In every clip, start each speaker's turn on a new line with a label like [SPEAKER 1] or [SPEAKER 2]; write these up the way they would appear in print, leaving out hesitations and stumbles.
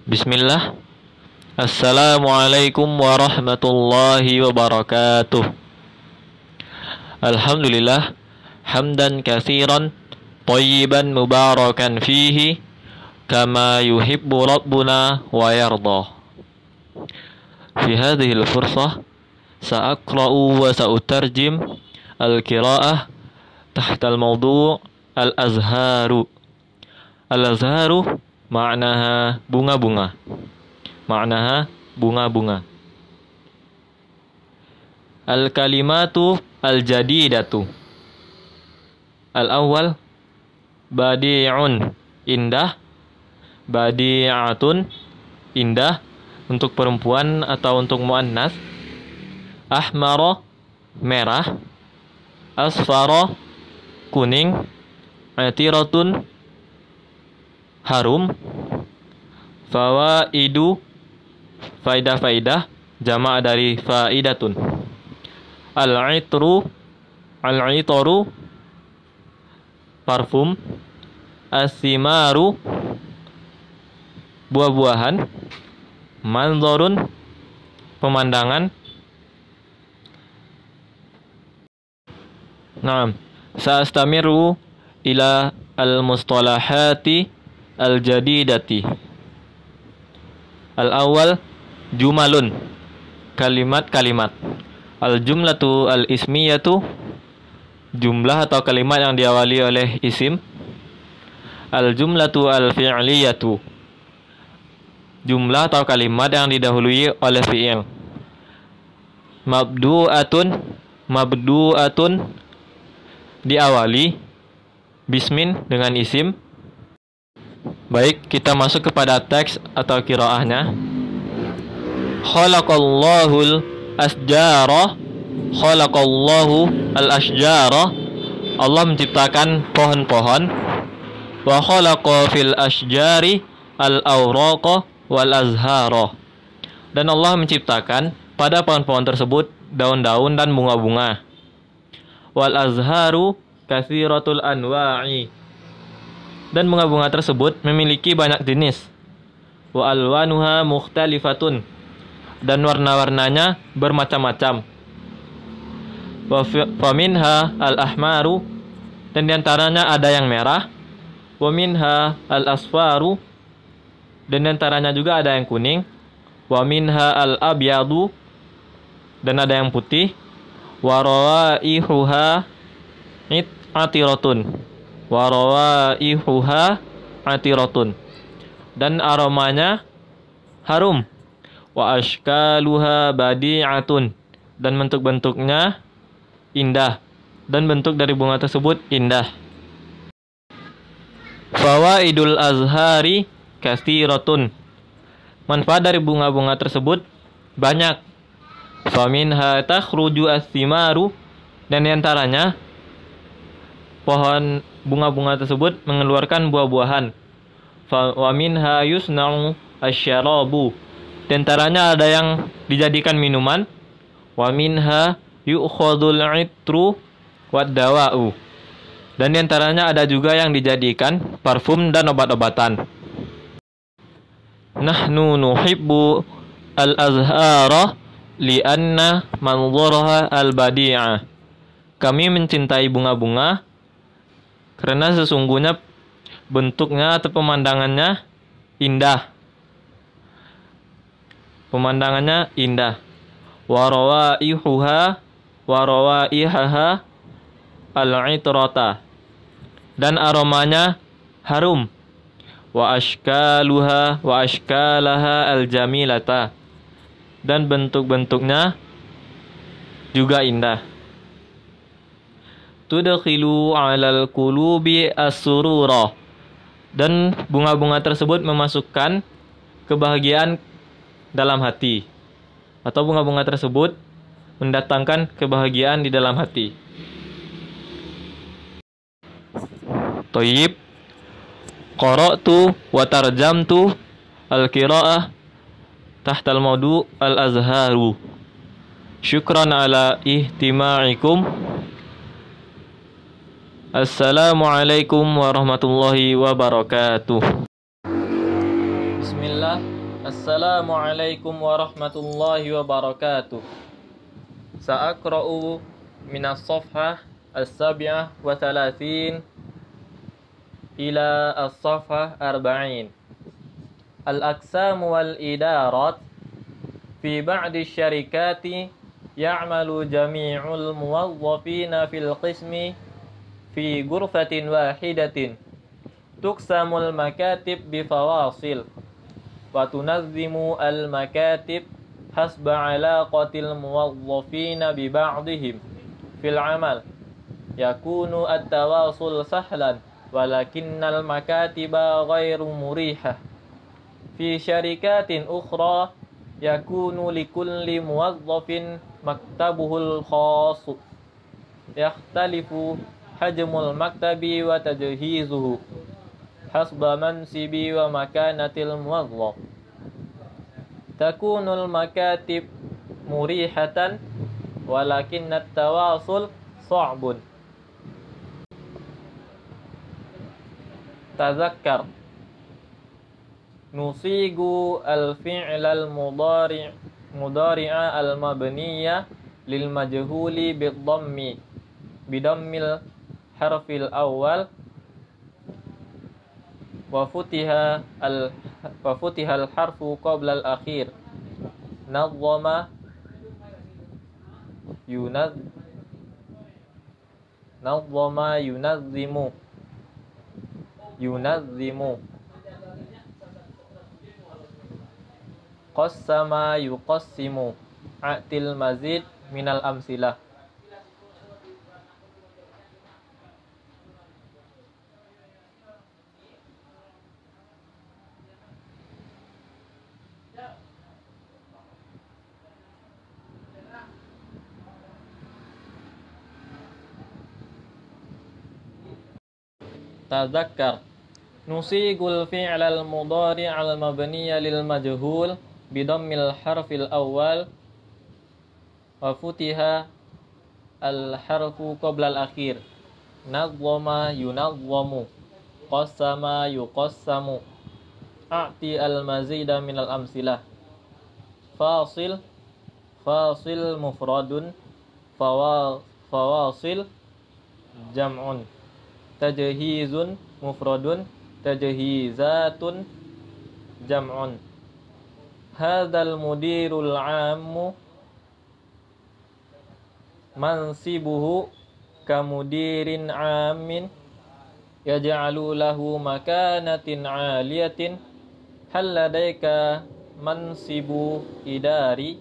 [SPEAKER 1] Bismillah. Assalamualaikum warahmatullahi wabarakatuh. Alhamdulillah hamdan katsiran thayyiban mubarakan fihi kama yuhibbu rabbuna wa yarda. Fi hadhihi al-fursah sa'aqra'u wa sa'utarjim al-qira'ah tahta al-mawdu' al-azharu. Al-azharu ma'naha bunga-bunga. Ma'naha bunga-bunga. Al-kalimatu al-jadidatu. Al-awwal badi'un, indah. Badi'atun, indah untuk perempuan atau untuk muannas. Ahmara, merah. Asfara, kuning. Atiratun, harum. Fawaidu, faidah-faidah, jamak dari faidatun. Al-itru, al-itaru, parfum. As-simaru, buah-buahan. Manzorun, pemandangan. Naam, sa'astamiru ila al-mustalahati al-jadidati. Al-awwal jumalun, kalimat-kalimat. Al-jumlatu al-ismiyatu, jumlah atau kalimat yang diawali oleh isim. Al-jumlatu al-fi'liyatu, jumlah atau kalimat yang didahului oleh fi'il. Mabdu'atun, mabdu'atun, diawali bismin dengan isim. Baik, kita masuk kepada teks atau qiraahnya. Khalaqallahul asjara, khalaqallahu al-asjara, Allah menciptakan pohon-pohon. Wa khalaqa fil asjari al-awraqa wal azhara, dan Allah menciptakan pada pohon-pohon tersebut daun-daun dan bunga-bunga. Wal azharu katsiratul anwa'i, dan bunga-bunga tersebut memiliki banyak jenis. Wa alwanuha mukhtalifatun, dan warna-warnanya bermacam-macam. Wa minha al-ahmaru, dan diantaranya ada yang merah. Wa minha al-asfaru, dan diantaranya juga ada yang kuning. Wa minha al-abyadu, dan ada yang putih. Wa rawaihuha atiratun, wa rawaihuha atiratun, dan aromanya harum. Wa ashkaluha badi'atun, dan bentuk-bentuknya indah, dan bentuk dari bunga tersebut indah. Fawaidul azhari katsiratun, manfaat dari bunga-bunga tersebut banyak. Faminha takhruju as-simaru, dan diantaranya pohon bunga-bunga tersebut mengeluarkan buah-buahan. Wa minha yusna'u asyarabu, diantaranya ada yang dijadikan minuman. Wa minha yu'khadul itru wad dawa'u, dan diantaranya ada juga yang dijadikan parfum dan obat-obatan. Nahnu nuhibbu al-azhara li'anna manzuraha al-badi'ah, kami mencintai bunga-bunga karena sesungguhnya bentuknya atau pemandangannya indah. Pemandangannya indah. Wa rawaihaha al-itrata, dan aromanya harum. Wa ashkalaha al-jamilata, dan bentuk-bentuknya juga indah. Tudkhilu 'alal qulubi as-surura, dan bunga-bunga tersebut memasukkan kebahagiaan dalam hati, atau bunga-bunga tersebut mendatangkan kebahagiaan di dalam hati. Thayyib. Qara'tu wa tarjamtu al-qira'ah tahta al-mawdu' al-azharu. Syukran ala ihtima'ikum. Assalamualaikum warahmatullahi wabarakatuh. Bismillah. Assalamualaikum warahmatullahi wabarakatuh. Sa'akra'u minas safhah as-sabi'ah wa thalathin ila as-safhah arba'in. Al-aqsam wal idarat fi ba'di syarikati ya'malu jami'ul muwazzafina fil qismi fi ghurfatin wahidatin. Tuqsamul makatib bi fawasil wa tunazzimu al makatib hasba alaqatil muwazzafina bi ba'dihim fil amal. Yakunu at-tawasul sahlan walakinnal makatiba ghairu murihah. Fi syarikatin ukhra yakunu likulli muwazzafin maktabuhul khass. Yakhtalifu hajmul maktabi wa tajhizuhu hasba mansibi wa makanatil muwazzaf. Takunul makatib murihatan walakinnat tawasul sa'bun. Tazakkar nusigu al-fi'l al-mudari'a al-mabniya lil majhuli bid-dhammi bidammil harfil awal wa futiha al-harfu qabla al-akhir. Nazzama yunazzimu qassama yuqassimu. A'til mazid minal amsilah. Tazakkar nusigul fi'l al-mudari' al-mabniya lil majhul bidammil harfil awal wa futiha al-harfu qabla al-akhir. Nazzama yunazzamu qassama yuqassamu. A'ti al-mazida minal amsilah. Fasil mufradun fawasil jam'un. Tajhizun mufradun tajhizatun jam'un. Hadzal mudirul 'ammu mansibuhu kamudirin 'amin yaj'alu lahu makanatin 'aliyatin. Hal ladaika mansibu idari?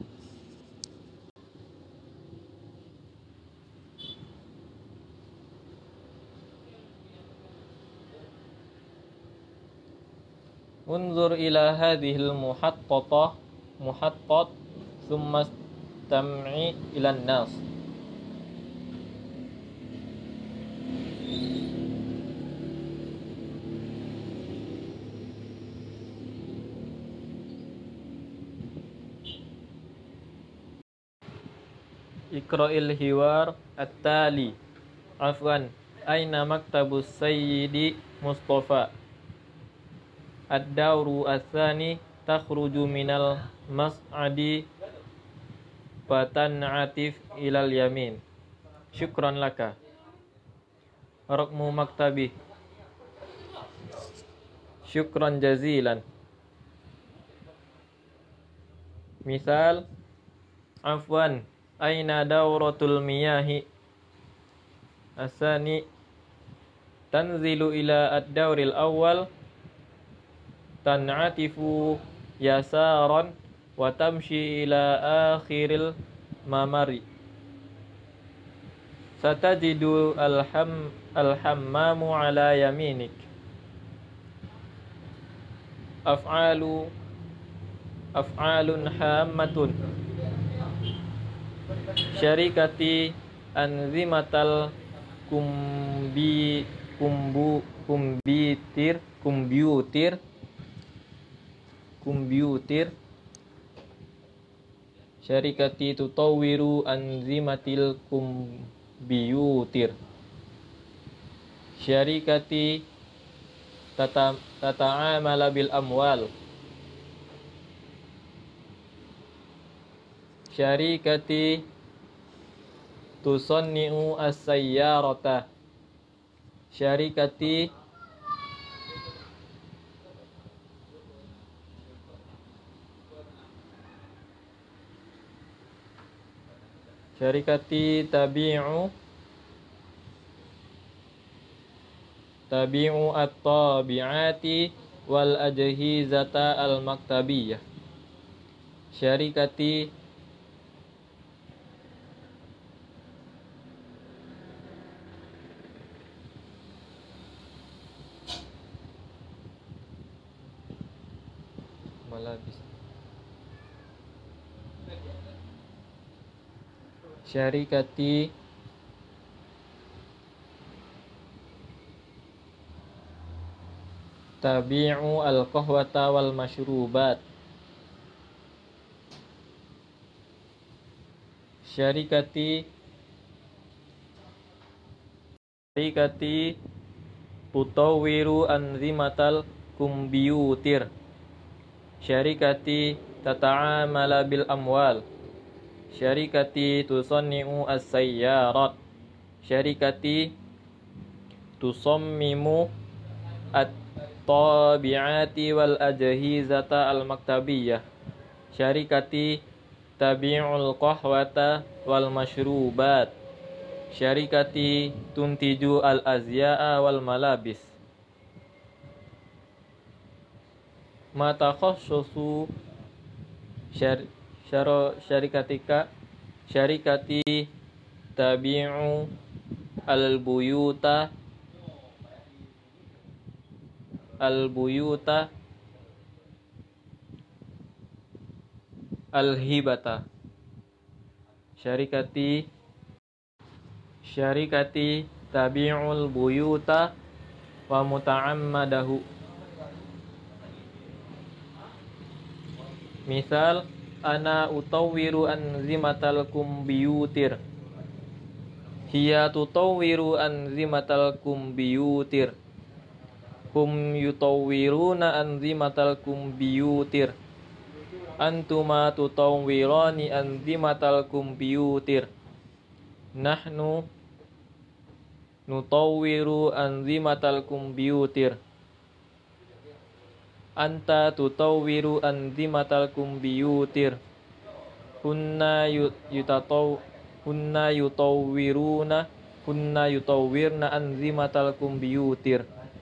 [SPEAKER 1] Unzur ila hadhil muhattat thumma istam'i ila nas. Iqra'il hiwar at-tali. Afwan, aina maktabus sayyidi Mustafa? Ad-dawru ats-tsani takhruju minal mas'adi fatan'atif ilal yamin. Syukran laka. Raqmu maktabi. Syukran jazilan. Misal, afwan, aina dawratul miyahi? Asani tanzilu ila ad-dawril awal tan'atifu yasaran wa tamshi ila akhiril mamari. Satajidu al-hammamu ala yaminik. Af'alun hammatun. Syarikati anzimatal kumbiutir. Syarikati tutawwiru anzimatil kumbiutir. Syarikati tata'amala bil amwal. Syarikati tusanni'u as-sayyarata. Syarikati tabi'u at-tabi'ati wal ajhizata al-maktabiyah. Syarikati malabis. Syarikati tabi'u al-qahwata wal masyrubat. Syarikati tutawwiru anzimatal kumbiyutir. Syarikati tata'amala bil amwal. Syarikati tusanni'u as-sayyarat. Syarikati tusammimu at-tabi'ati wal ajhizata al-maktabiyah. Syarikati tabi'ul qahwata wal masyrubat. Syarikati tuntiju al-azya'a wal malabis. Matakhassasu syarikatika. Syarikati tabi'u al-buyuta al-hibata. Syarikati tabi'ul buyuta wa muta'ammadahu. Misal, ana utawwiru anzimatal kumbiyutir. Hiya tutawwiru anzimatal kumbiyutir. Hum yutawwiruna anzimatal kumbiyutir. Antuma tutawwirani anzimatal kumbiyutir. Nahnu nutawwiru anzimatal kumbiyutir. Anta tutawwiru anzimatal kumbiyutir. Hunna yutawwirna anzimatal kumbiyutir.